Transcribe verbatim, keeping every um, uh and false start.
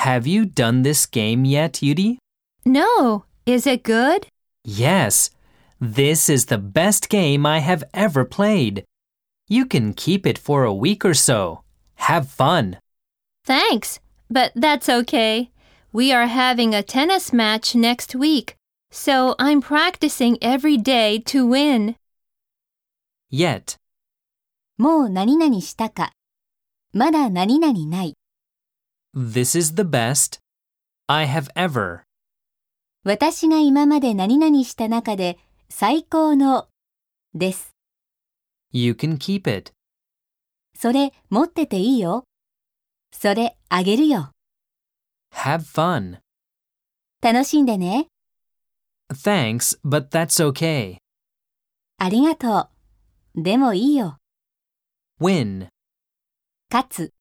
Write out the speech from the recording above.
Have you done this game yet, Yuri? No, is it good? Yes. This is the best game I have ever played. You can keep it for a week or so. Have fun. Thanks, but that's okay. We are having a tennis match next week, so I'm practicing every day to win. Yet. もう何々したか。まだ何々ない。 This is the best I have ever. 私が今まで何々した中で最高のです。 You can keep it. それ持ってていいよ。それあげるよ。 Have fun. 楽しんでね。 Thanks, but that's okay. ありがとう。でもいいよ。 Win. 勝つ。